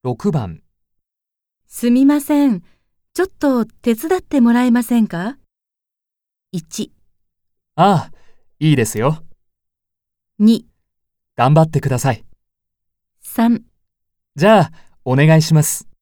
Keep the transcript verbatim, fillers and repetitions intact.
ろくばん。 すみません。ちょっと手伝ってもらえませんか？いち、 ああ、いいですよ。 に、 頑張ってください。 さん。 じゃあ、お願いします。